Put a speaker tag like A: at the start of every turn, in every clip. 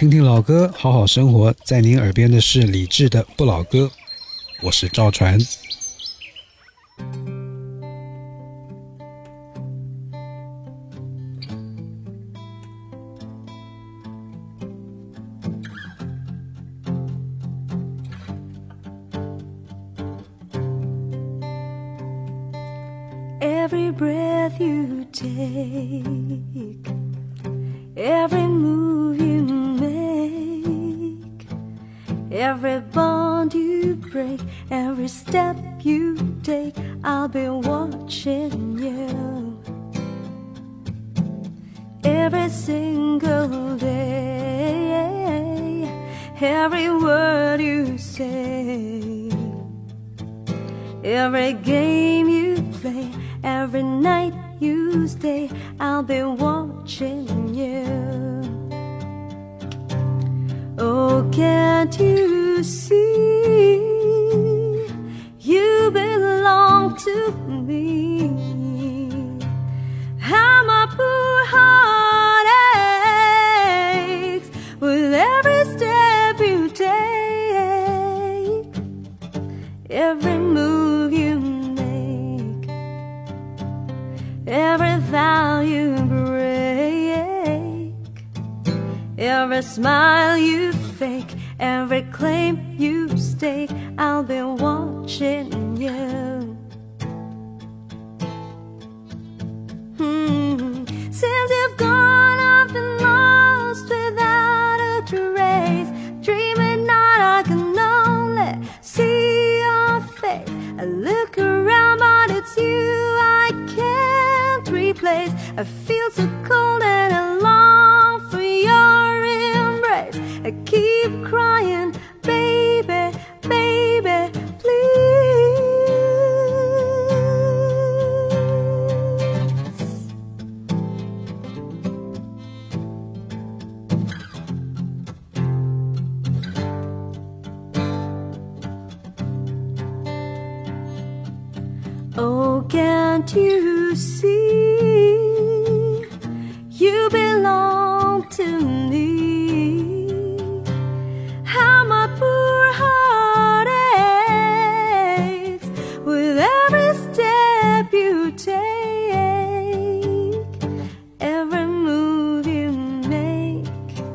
A: 听听老歌，好好生活。在您耳边的是李志的不老歌，我是赵传。
B: Every breath you take, every move you make, every bond you break, every step you take, I'll be watching you. Every single day, every word you say, every game you play, every night you stay, I'll be watching you. Oh, can't you see? You belong to me. How my poor heart aches with every step you take, every move you make, every vow you break, every smile you fake, every claim you stake, I'll be watching you. Since you've gone, I've been lost without a trace. Dreaming night, I can only see your face. I look around, but it's you I can't replace. I feel so cold and I long for your embrace. I keep crying, baby, baby, please. Oh, can't you see? You belong to me. How my poor heart aches with every step you take, every move you make,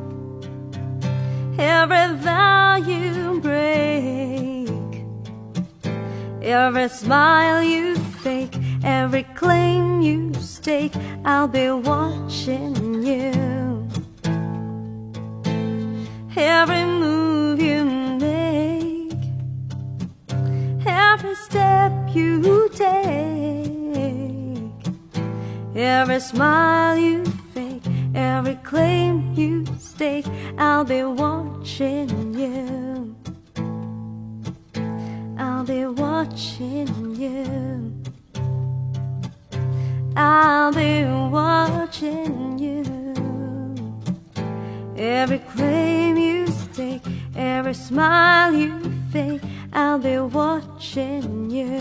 B: every vow you break, every smile you fake, every claim you stake, I'll be watching you. Every move you make, every step you take, every smile you fake, every claim you stake, I'll be watching you. I'll be watching you. I'll be watching you. Every claim you stake, every smile you fake, I'll be watching you.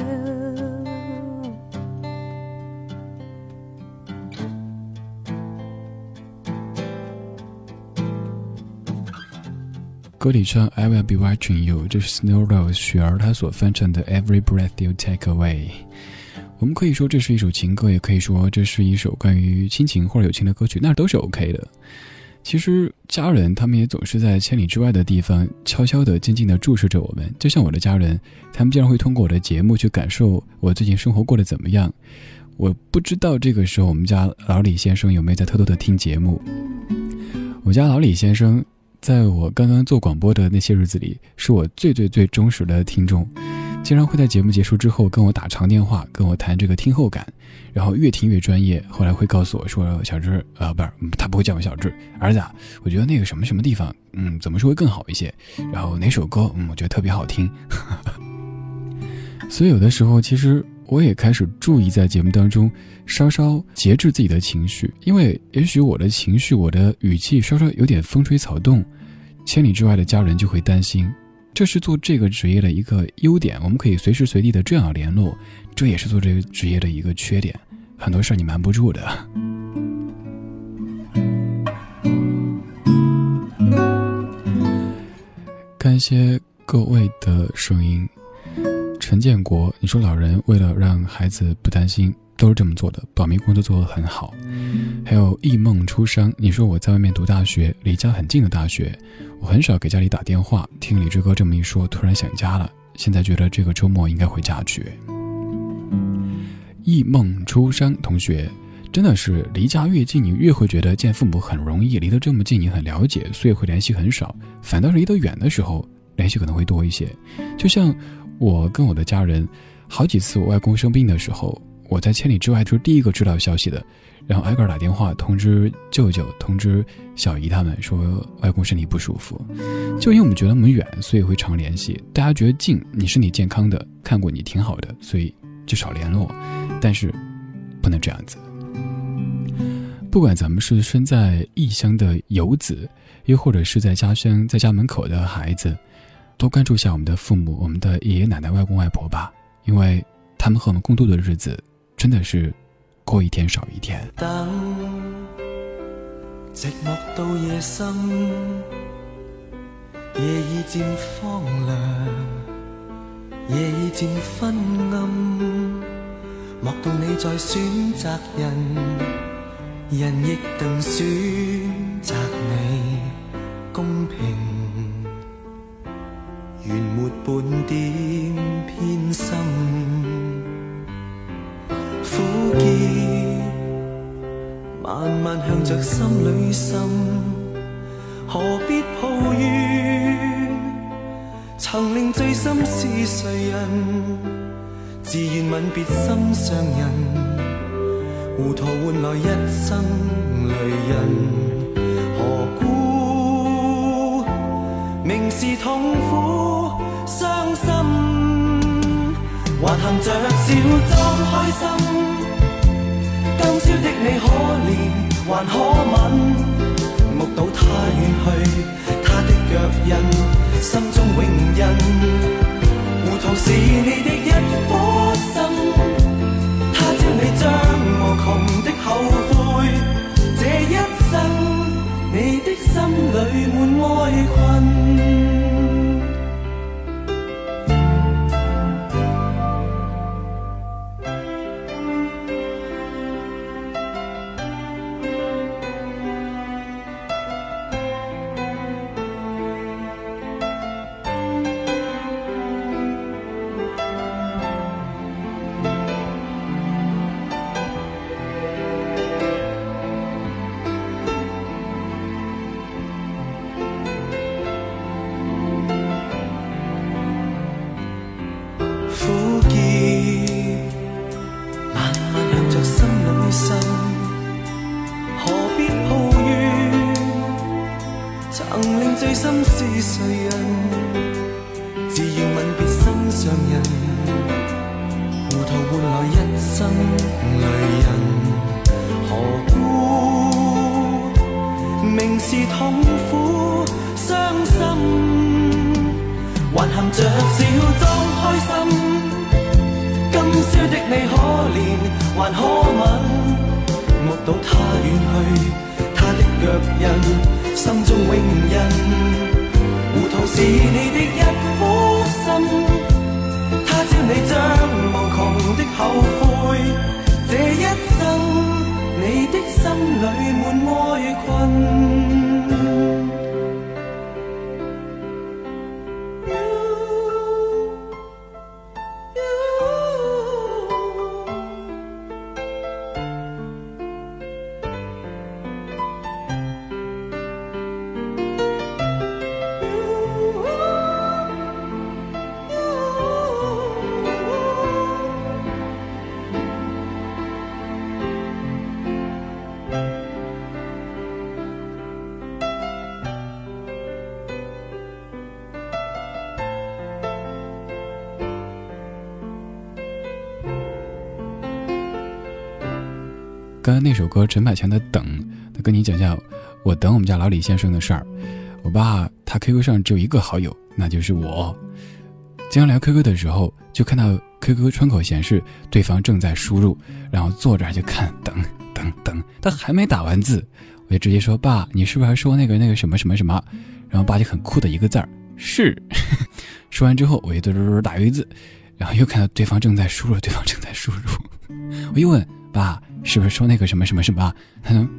C: 歌里唱 I will be watching you， 这是 Snow Rose 雪儿她所翻唱的 Every breath you take away。 我们可以说这是一首情歌，也可以说这是一首关于亲情或者友情的歌曲，那都是 OK 的。其实家人他们也总是在千里之外的地方悄悄地静静地注视着我们，就像我的家人，他们经常会通过我的节目去感受我最近生活过得怎么样。我不知道这个时候我们家老李先生有没有在偷偷地听节目。我家老李先生在我刚刚做广播的那些日子里，是我最忠实的听众，经常会在节目结束之后跟我打长电话，跟我谈这个听后感，然后越听越专业，后来会告诉我说，小志不是，他不会叫我小志，儿子啊，我觉得那个什么什么地方怎么说会更好一些，然后哪首歌我觉得特别好听。所以有的时候其实我也开始注意在节目当中稍稍节制自己的情绪，因为也许我的情绪我的语气稍稍有点风吹草动，千里之外的家人就会担心。这是做这个职业的一个优点，我们可以随时随地的这样联络，这也是做这个职业的一个缺点，很多事你瞒不住的。 看一些各位的声音。陈建国，你说老人为了让孩子不担心都是这么做的，保密工作做得很好。还有忆梦初伤，你说我在外面读大学，离家很近的大学，我很少给家里打电话，听李志哥这么一说，突然想家了，现在觉得这个周末应该回家去。忆梦初伤同学，真的是离家越近，你越会觉得见父母很容易，离得这么近你很了解，所以会联系很少，反倒是离得远的时候联系可能会多一些。就像我跟我的家人，好几次我外公生病的时候，我在千里之外就是第一个知道消息的，然后挨个打电话通知舅舅通知小姨他们说外公身体不舒服。就因为我们觉得我们远，所以会常联系，大家觉得近，你身体健康的，看过你挺好的，所以就少联络。但是不能这样子，不管咱们是身在异乡的游子，又或者是在家乡在家门口的孩子，多关注一下我们的父母，我们的爷爷奶奶外公外婆吧，因为他们和我们共度的日子真的是过一天少一天。
D: 等寂寞到夜深，夜已漸荒涼，夜已漸昏暗，莫道你在選擇人，人亦能選擇你公平，原沒半點偏心。苦澀慢慢向着心裏滲，何必抱怨？曾令醉心是誰人？自願吻別心上人，糊塗換來一生淚印。何故明是痛苦傷心，還含着笑裝開心？今宵的你可憐還可吻？目睹他遠去，他的腳印，心中永印。糊塗是你的一顆心，他朝你將無窮的後悔。這一生，你的心裏滿哀困。
C: 刚才那首歌陈百强的等，他跟你讲讲我等我们家老李先生的事儿。我爸他 QQ 上只有一个好友，那就是我。经常聊 QQ 的时候，就看到 QQ 窗口显示对方正在输入，然后坐着就看等，他还没打完字，我就直接说爸，你是不是还说那个什么什么什么？然后爸就很酷的一个字儿是。说完之后，我又打一字，然后又看到对方正在输入，我又问爸，是不是说那个什么什么什么？他说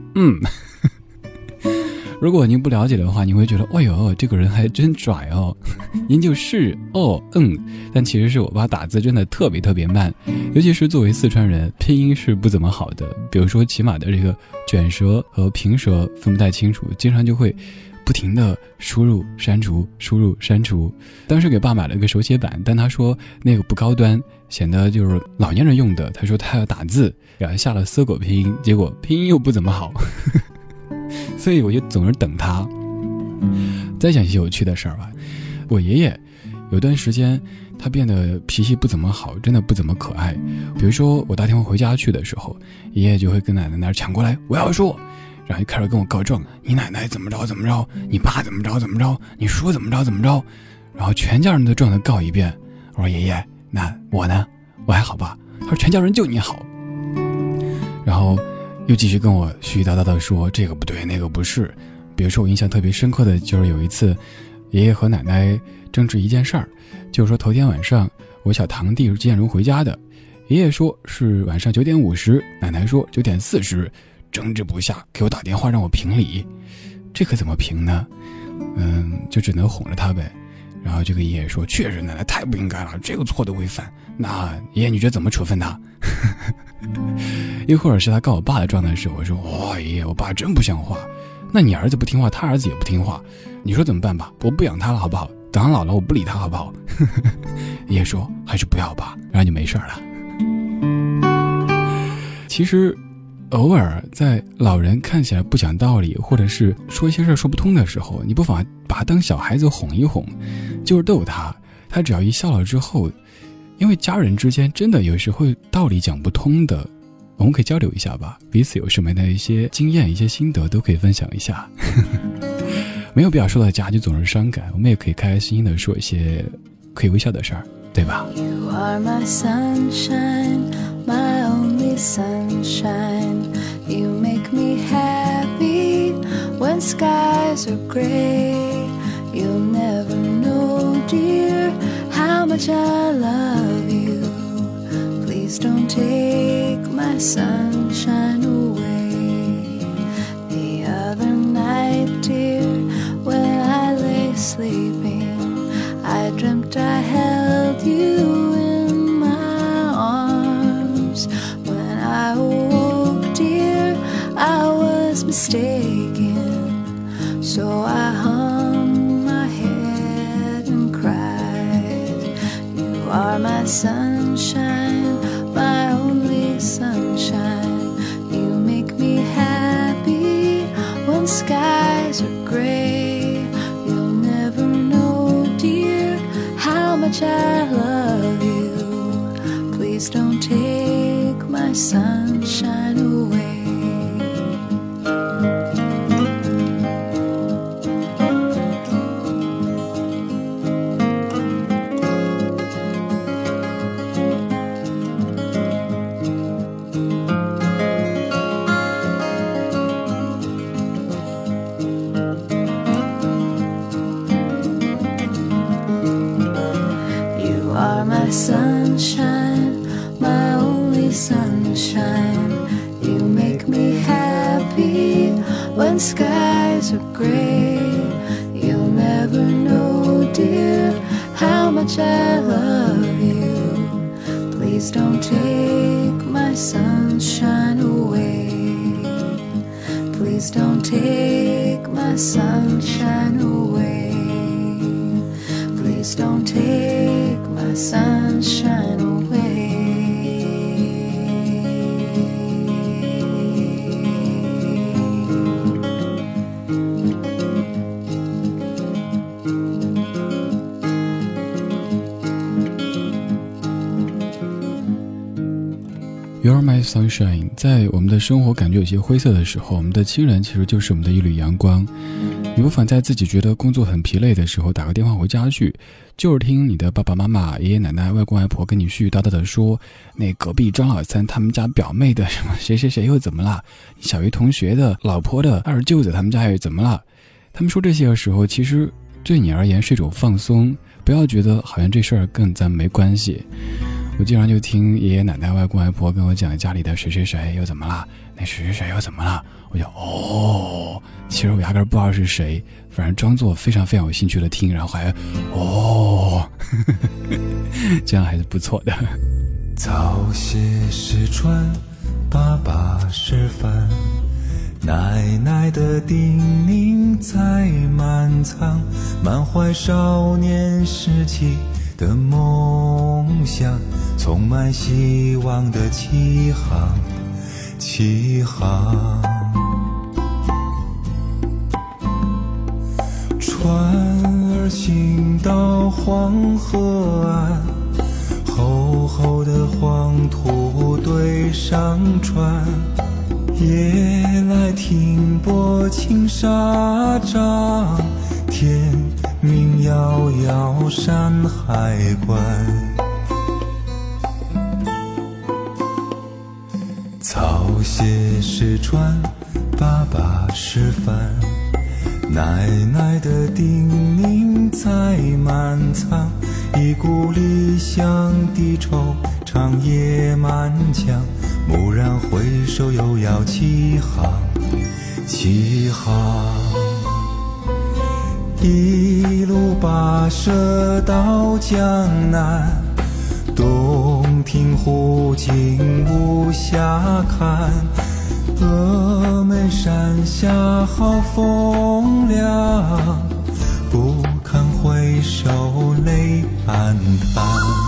C: 如果您不了解的话，你会觉得哎呦，这个人还真拽哦。您就是但其实是我爸打字真的特别慢，尤其是作为四川人，拼音是不怎么好的，比如说起码的这个卷舌和平舌分不太清楚，经常就会不停的输入删除。当时给爸买了个手写板，但他说那个不高端，显得就是老年人用的，他说他要打字，然后下了搜狗拼音，结果拼音又不怎么好。所以我就总是等他。再讲一些有趣的事儿吧。我爷爷有段时间他变得脾气不怎么好，真的不怎么可爱。比如说我打电话回家去的时候，爷爷就会跟奶奶那儿抢过来，我要说，然后就开始跟我告状，你奶奶怎么着，你爸怎么着，你叔怎么着，然后全家人都撞他告一遍。我说爷爷，那我呢？我还好吧？他说全家人就你好。然后又继续跟我絮絮叨叨的说这个不对那个不是。比如说我印象特别深刻的就是有一次爷爷和奶奶争执一件事儿，就是说头天晚上我小堂弟是几点钟回家的，爷爷说是晚上9点50，奶奶说9点40，争执不下给我打电话让我评理。这可怎么评呢？就只能哄着他呗。然后就跟爷爷说，确实奶奶太不应该了，这个错的违反，那爷爷你觉得怎么处分他？又或者是他告我爸的状态时，我说爷爷我爸真不像话，那你儿子不听话，他儿子也不听话，你说怎么办吧？我不养他了好不好？等他老了我不理他好不好？爷爷说还是不要吧，然后就没事了。其实偶尔在老人看起来不讲道理，或者是说一些事说不通的时候，你不妨把他当小孩子哄一哄，就是逗他，他只要一笑了之后，因为家人之间真的有时候道理讲不通的，我们可以交流一下吧，彼此有什么样的一些经验一些心得都可以分享一下。没有必要说到家就总是伤感，我们也可以开开心心的说一些可以微笑的事儿，对吧？
B: You are my sunshine, my only sunshine. You make me happy when skies are gray. You'll never know, dear, how much I love you. Please don't take my sunshine away. The other night, dear, when I lay sleeping, I dreamt I held you in my arms. When I awoke, dear, I was mistaken. So I hung my head and cried. You are my sunshine, my only sunshine. You make me happy when skies are gray. You'll never know, dear, how much I love you. Please don't take my sunshine away. Sunshine, my only sunshine. You make me happy when skies are gray. You'll never know, dear, how much I love you. Please don't take my sunshine away. Please don't take my sunshine away. Please don't take my sunshine away.
C: You're my sunshine， 在我们的生活感觉有些灰色的时候，我们的亲人其实就是我们的一缕阳光。你不妨在自己觉得工作很疲累的时候打个电话回家去，就是听你的爸爸妈妈、爷爷奶奶、外公外婆跟你絮絮叨叨的说，那隔壁张老三他们家表妹的什么谁谁谁又怎么了，小鱼同学的老婆的二舅子他们家又怎么了。他们说这些的时候，其实对你而言是一种放松，不要觉得好像这事儿跟咱没关系。我经常就听爷爷奶奶外公外婆跟我讲家里的谁谁谁又怎么了，那谁谁谁又怎么了，我就其实我压根不知道是谁，反正装作非常非常有兴趣的听，然后还这样还是不错的。
D: 早些时传，爸爸示范，奶奶的叮咛在满仓，满怀少年时期的梦想，充满希望的起航。船儿行到黄河岸，厚厚的黄土堆上船，夜来停泊青纱帐，天明遥遥山海关。早些时传，爸爸示范，奶奶的叮咛在满仓，一股理想的惆怅也满腔，蓦然回首又要起航。一路跋涉到江南，洞庭湖景无暇看，峨眉山下好风凉，不堪回首泪暗淡。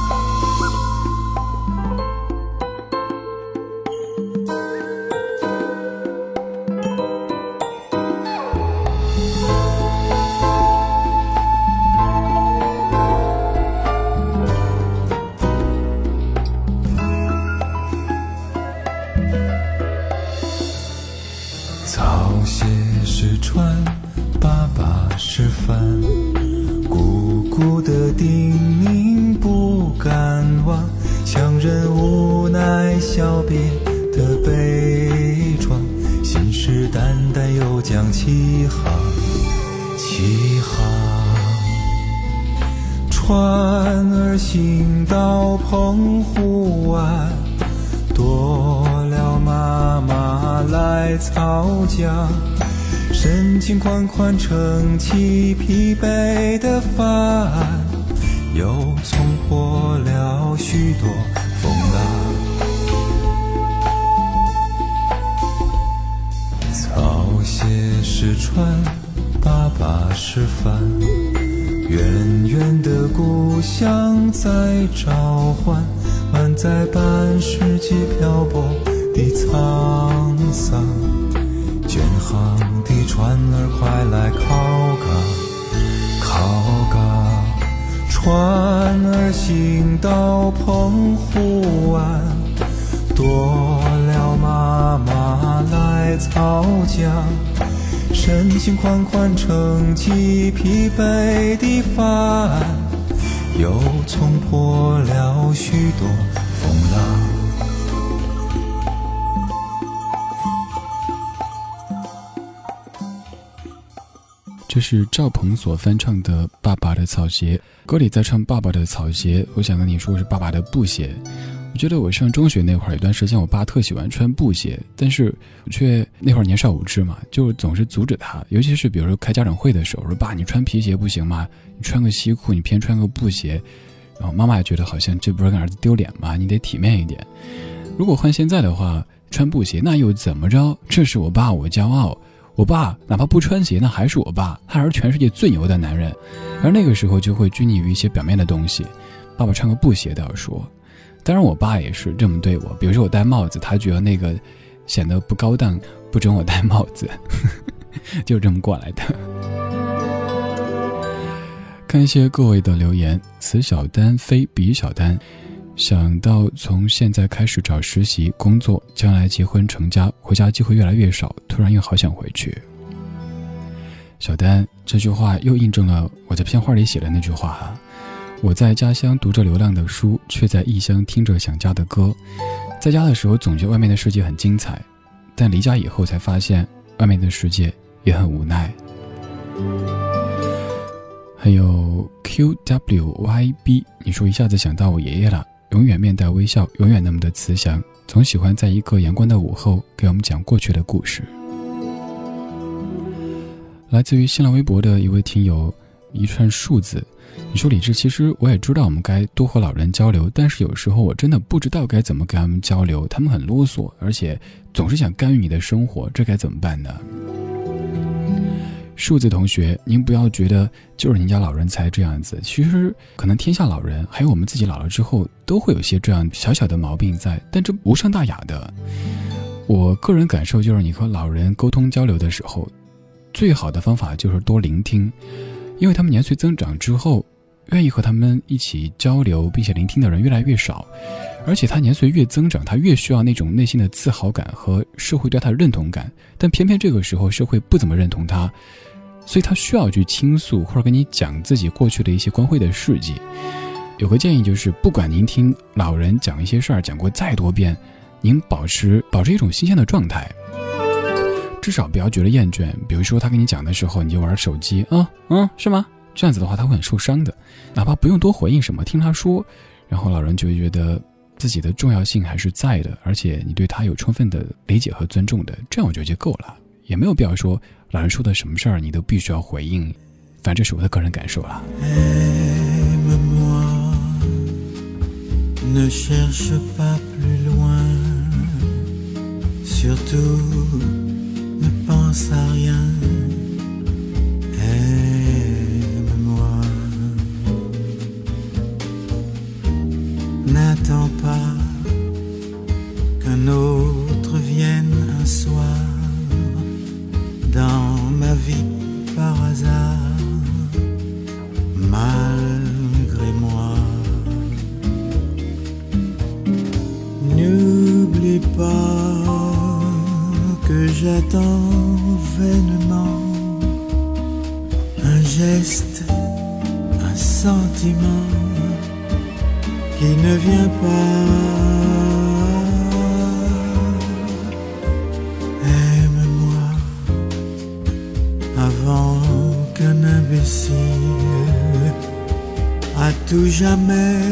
D: 早些时传，爸爸示范，姑姑的叮咛不敢忘，乡人无奈小别的悲怆，信誓旦旦又将起航。船儿行到澎湖湾，多了妈妈来操浆，深情款款撑起疲惫的帆，又冲破了许多风浪。早些时传，爸爸示范，远远的故乡在召唤，满载半世纪漂泊的沧桑，远航的船儿快来靠港，船儿行到澎湖湾，多了妈妈来操浆，深情款款撑起疲惫的帆，又冲破了许多风浪。
C: 这是赵鹏所翻唱的《爸爸的草鞋》，歌里在唱爸爸的草鞋，我想跟你说是爸爸的布鞋。我觉得我上中学那会儿有段时间，我爸特喜欢穿布鞋，但是我却那会儿年少无知嘛，就总是阻止他，尤其是比如说开家长会的时候，说爸你穿皮鞋不行吗？你穿个西裤，你偏穿个布鞋，然后妈妈也觉得好像这不是跟儿子丢脸吗？你得体面一点。如果换现在的话，穿布鞋那又怎么着？这是我爸，我骄傲。我爸哪怕不穿鞋，那还是我爸，他还是全世界最牛的男人。而那个时候就会拘泥于一些表面的东西。爸爸穿个布鞋倒要说，当然我爸也是这么对我，比如说我戴帽子，他觉得那个显得不高档，不准我戴帽子，就这么过来的。看一些各位的留言，此小丹非彼小丹，想到从现在开始找实习工作，将来结婚成家，回家机会越来越少，突然又好想回去。小丹这句话又印证了我在片花里写的那句话啊，我在家乡读着流浪的书，却在异乡听着想家的歌。在家的时候总觉得外面的世界很精彩，但离家以后才发现外面的世界也很无奈。 还有 QWYB， 你说一下子想到我爷爷了，永远面带微笑，永远那么的慈祥，总喜欢在一个阳光的午后给我们讲过去的故事。来自于新浪微博的一位听友一串数字，你说李志，其实我也知道我们该多和老人交流，但是有时候我真的不知道该怎么跟他们交流，他们很啰嗦，而且总是想干预你的生活，这该怎么办呢？数字同学，您不要觉得就是您家老人才这样子，其实可能天下老人还有我们自己老了之后都会有些这样小小的毛病在，但这无伤大雅的。我个人感受就是你和老人沟通交流的时候，最好的方法就是多聆听，因为他们年岁增长之后，愿意和他们一起交流并且聆听的人越来越少，而且他年岁越增长，他越需要那种内心的自豪感和社会对他的认同感，但偏偏这个时候社会不怎么认同他，所以他需要去倾诉或者跟你讲自己过去的一些光辉的事迹。有个建议就是，不管您听老人讲一些事儿讲过再多遍，您保持一种新鲜的状态，至少不要觉得厌倦。比如说他跟你讲的时候你就玩手机，是吗？这样子的话他会很受伤的，哪怕不用多回应什么，听他说，然后老人就会觉得自己的重要性还是在的，而且你对他有充分的理解和尊重的，这样我觉得就够了，也没有必要说老人说的什么事儿你都必须要回应，反正这是我的个人感受啦。
E: Ne cherche pas plus loin, surtout ne pense à rien. Aime-moi, n'attends pas qu'un autre vienne un soir dans ma vie par hasard, malgré moi.N'oublie pas que j'attends vainement un geste, un sentiment qui ne vient pas. Aime-moi avant qu'un imbécile à tout jamais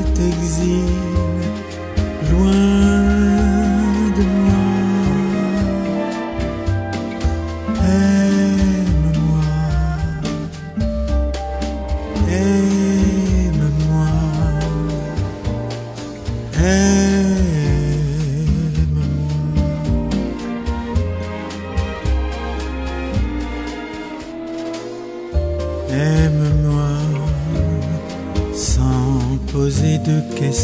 E: t'exile.Loin de moi, aime-moi, aime-moi, aime-moi. Aime-moi sans poser de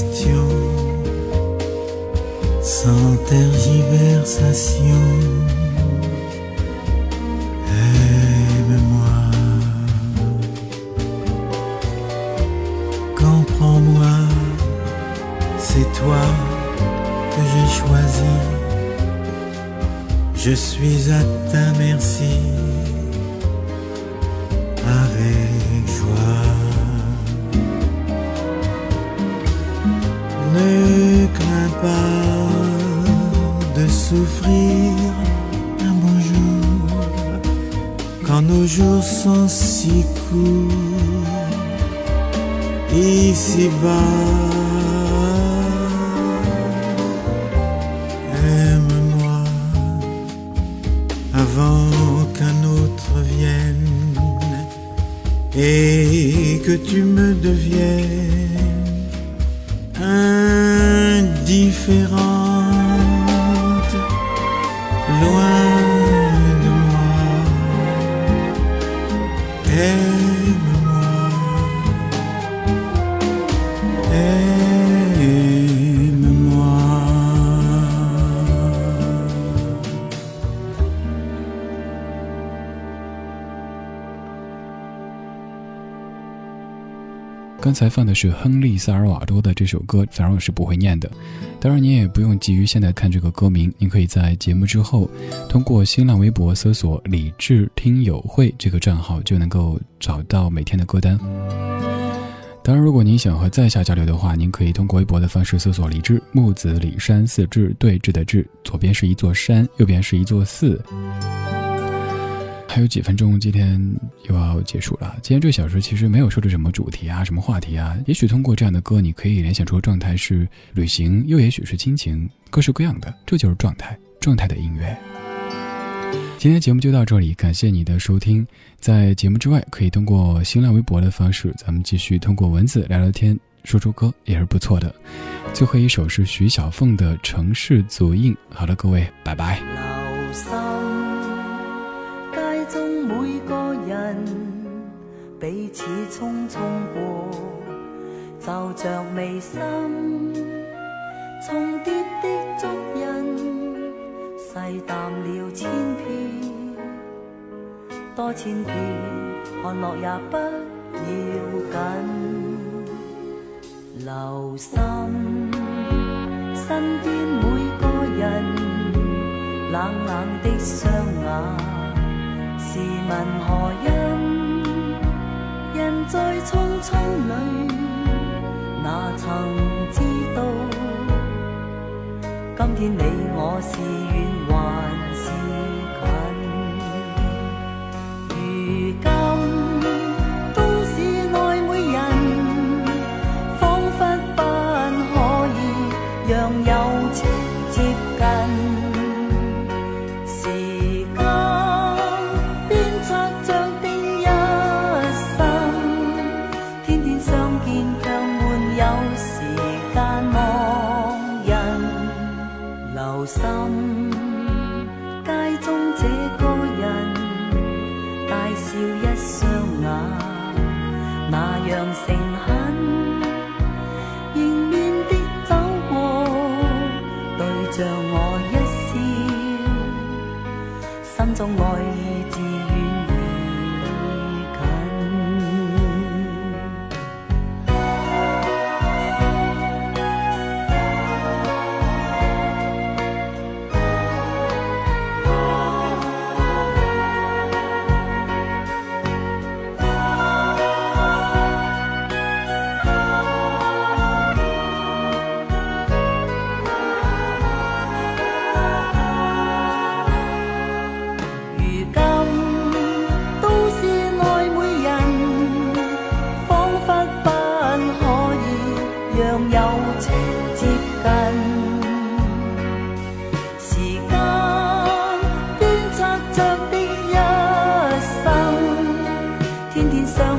E: questions.Sans tergiversation, aime-moi, comprends-moi, c'est toi que j'ai choisi, je suis à ta merci, avec joie.Ne crains pas de souffrir un beau jour quand nos jours sont si courts ici-bas. Aime-moi avant qu'un autre vienne et que tu me deviennes.Indifférente, loin de moi, aime-moi, aime-moi.
C: 刚才放的是亨利·萨尔瓦多的这首歌，反正我是不会念的。当然你也不用急于现在看这个歌名，您可以在节目之后通过新浪微博搜索李志听友会这个账号，就能够找到每天的歌单。当然如果您想和在下交流的话，您可以通过微博的方式搜索李志，木子李山四志，对峙的志，左边是一座山，右边是一座寺。 还有几分钟，今天又要结束了。今天这个小时其实没有说的什么主题啊，什么话题啊，也许通过这样的歌，你可以联想出状态是旅行，又也许是亲情，各式各样的，这就是状态的音乐。今天节目就到这里，感谢你的收听。在节目之外，可以通过新浪微博的方式，咱们继续通过文字聊聊天，说说歌也是不错的。最后一首是徐小凤的《城市足印》。好了，各位，拜拜。
B: 留心街中每個人彼此匆匆過，就像眉心重疊的足印，細淡了千遍，多千遍，看落也不要緊。留心身邊每個人冷冷的雙眼，試問何因？人在匆匆裏，哪曾知道，今天你我是遠還是近？如今都市內每人，彷彿不可以讓友情接近。留心街中這個人，大笑一雙眼，那樣誠懇，迎面的走過，對着我一笑，心中愛意自遠而近。天上